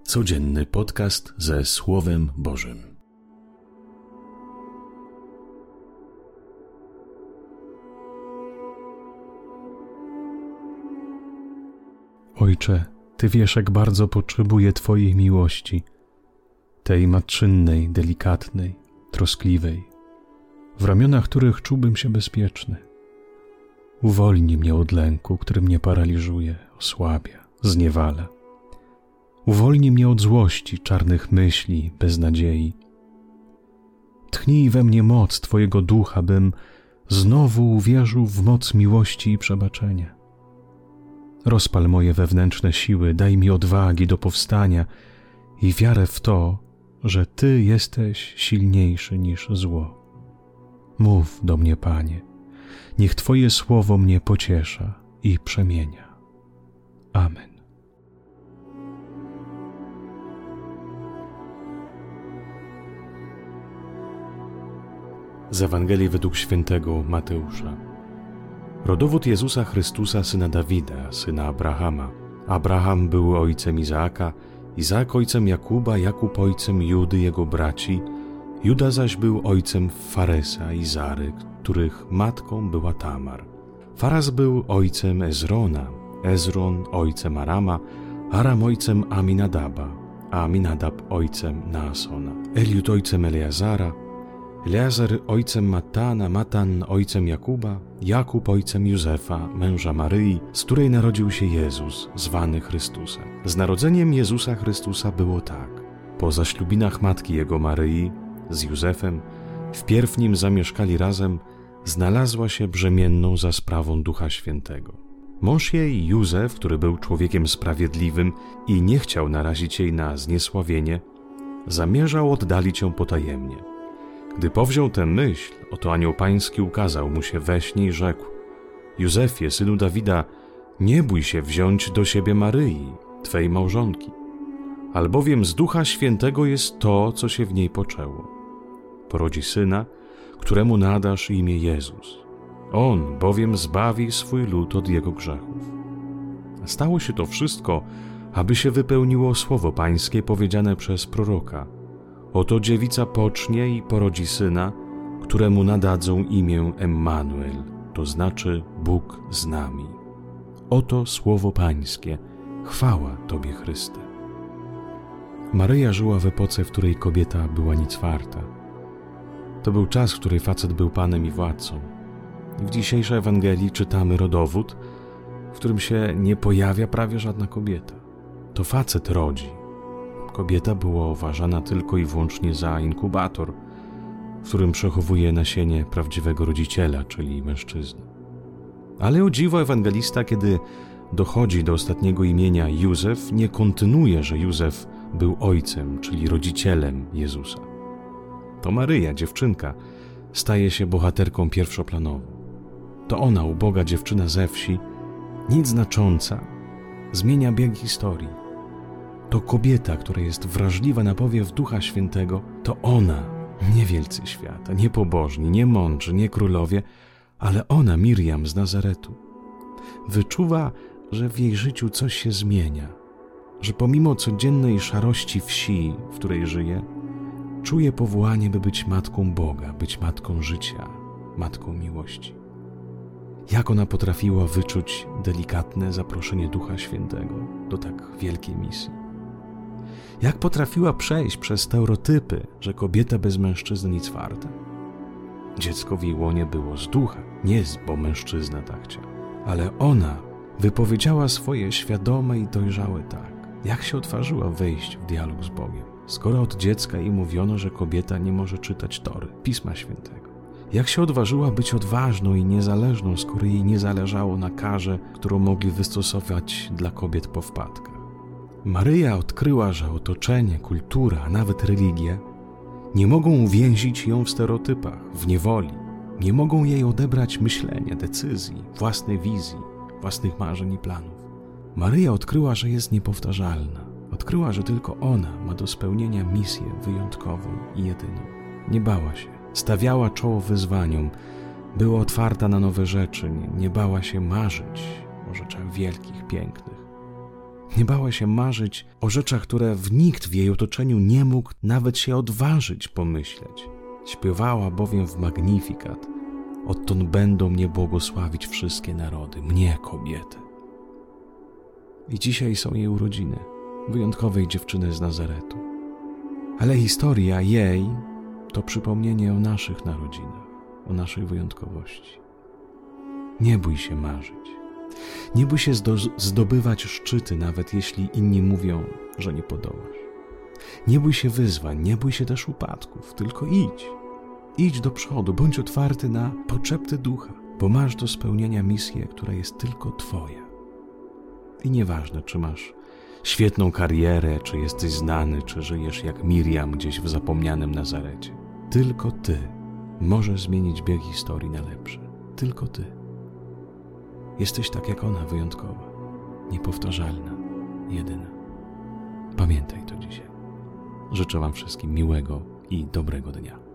Codzienny podcast ze Słowem Bożym. Ojcze, Ty wiesz, jak bardzo potrzebuję Twojej miłości, tej matczynnej, delikatnej, troskliwej, w ramionach których czułbym się bezpieczny. Uwolnij mnie od lęku, który mnie paraliżuje, osłabia, zniewala. Uwolnij mnie od złości, czarnych myśli, beznadziei. Tchnij we mnie moc Twojego ducha, bym znowu uwierzył w moc miłości i przebaczenia. Rozpal moje wewnętrzne siły, daj mi odwagi do powstania i wiarę w to, że Ty jesteś silniejszy niż zło. Mów do mnie, Panie, niech Twoje słowo mnie pociesza i przemienia. Amen. Z Ewangelii według świętego Mateusza. Rodowód Jezusa Chrystusa, syna Dawida, syna Abrahama. Abraham był ojcem Izaaka, Izaak ojcem Jakuba, Jakub ojcem Judy, jego braci. Juda zaś był ojcem Faresa i Zary, których matką była Tamar. Faras był ojcem Ezrona, Ezron ojcem Arama, Aram ojcem Aminadaba, a Aminadab ojcem Naasona. Eliud ojcem Eleazara, Eleazar ojcem Matana, Matan ojcem Jakuba, Jakub ojcem Józefa, męża Maryi, z której narodził się Jezus, zwany Chrystusem. Z narodzeniem Jezusa Chrystusa było tak. Po zaślubinach matki jego Maryi z Józefem, wpierw nim zamieszkali razem, znalazła się brzemienną za sprawą Ducha Świętego. Mąż jej, Józef, który był człowiekiem sprawiedliwym i nie chciał narazić jej na zniesławienie, zamierzał oddalić ją potajemnie. Gdy powziął tę myśl, oto anioł pański ukazał mu się we śnie i rzekł: Józefie, synu Dawida, nie bój się wziąć do siebie Maryi, twej małżonki, albowiem z Ducha Świętego jest to, co się w niej poczęło. Porodzi syna, któremu nadasz imię Jezus. On bowiem zbawi swój lud od jego grzechów. Stało się to wszystko, aby się wypełniło słowo pańskie powiedziane przez proroka. Oto dziewica pocznie i porodzi syna, któremu nadadzą imię Emmanuel, to znaczy Bóg z nami. Oto słowo pańskie. Chwała Tobie, Chryste. Maryja żyła w epoce, w której kobieta była nic warta. To był czas, w którym facet był panem i władcą. W dzisiejszej Ewangelii czytamy rodowód, w którym się nie pojawia prawie żadna kobieta. To facet rodzi. Kobieta była uważana tylko i wyłącznie za inkubator, w którym przechowuje nasienie prawdziwego rodziciela, czyli mężczyzny. Ale o dziwo ewangelista, kiedy dochodzi do ostatniego imienia Józef, nie kontynuuje, że Józef był ojcem, czyli rodzicielem Jezusa. To Maryja, dziewczynka, staje się bohaterką pierwszoplanową. To ona, uboga dziewczyna ze wsi, nic znacząca, zmienia bieg historii. To kobieta, która jest wrażliwa na powiew Ducha Świętego, to ona, nie wielcy świata, nie pobożni, nie mądrzy, nie królowie, ale ona, Mirjam z Nazaretu, wyczuwa, że w jej życiu coś się zmienia, że pomimo codziennej szarości wsi, w której żyje, czuje powołanie, by być matką Boga, być matką życia, matką miłości. Jak ona potrafiła wyczuć delikatne zaproszenie Ducha Świętego do tak wielkiej misji? Jak potrafiła przejść przez stereotypy, że kobieta bez mężczyzny nic warta? Dziecko w jej łonie było z ducha, nie bo mężczyzna tak chciał. Ale ona wypowiedziała swoje świadome i dojrzałe tak. Jak się odważyła wejść w dialog z Bogiem, skoro od dziecka jej mówiono, że kobieta nie może czytać Tory, Pisma Świętego? Jak się odważyła być odważną i niezależną, skoro jej nie zależało na karze, którą mogli wystosować dla kobiet po wpadkach? Maryja odkryła, że otoczenie, kultura, a nawet religia nie mogą uwięzić ją w stereotypach, w niewoli. Nie mogą jej odebrać myślenia, decyzji, własnej wizji, własnych marzeń i planów. Maryja odkryła, że jest niepowtarzalna. Odkryła, że tylko ona ma do spełnienia misję wyjątkową i jedyną. Nie bała się, stawiała czoło wyzwaniom, była otwarta na nowe rzeczy, nie bała się marzyć o rzeczach wielkich, pięknych. Nie bała się marzyć o rzeczach, które nikt w jej otoczeniu nie mógł nawet się odważyć pomyśleć. Śpiewała bowiem w Magnificat: odtąd będą mnie błogosławić wszystkie narody, mnie, kobietę. I dzisiaj są jej urodziny, wyjątkowej dziewczyny z Nazaretu. Ale historia jej to przypomnienie o naszych narodzinach, o naszej wyjątkowości. Nie bój się marzyć. Nie bój się zdobywać szczyty, nawet jeśli inni mówią, że nie podołasz. Nie bój się wyzwań, nie bój się też upadków, tylko idź. Idź do przodu, bądź otwarty na poczepty ducha, bo masz do spełnienia misję, która jest tylko twoja. I nieważne, czy masz świetną karierę, czy jesteś znany, czy żyjesz jak Miriam gdzieś w zapomnianym Nazarecie. Tylko ty możesz zmienić bieg historii na lepszy. Tylko ty. Jesteś tak jak ona, wyjątkowa, niepowtarzalna, jedyna. Pamiętaj to dzisiaj. Życzę wam wszystkim miłego i dobrego dnia.